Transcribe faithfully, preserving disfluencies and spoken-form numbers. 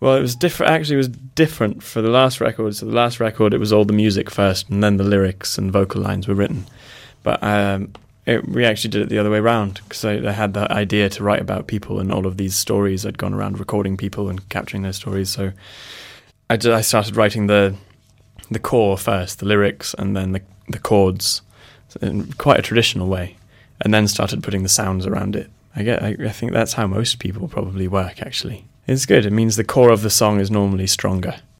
Well, it was different. Actually, it was different for the last record. So the last record, it was all the music first, and then the lyrics and vocal lines were written. But um, it, we actually did it the other way around, because I, I had the idea to write about people and all of these stories. I'd gone around recording people and capturing their stories. So I, did, I started writing the the core first, the lyrics, and then the the chords, in quite a traditional way, and then started putting the sounds around it. I get. I, I think that's how most people probably work, actually. It's good. It means the core of the song is normally stronger.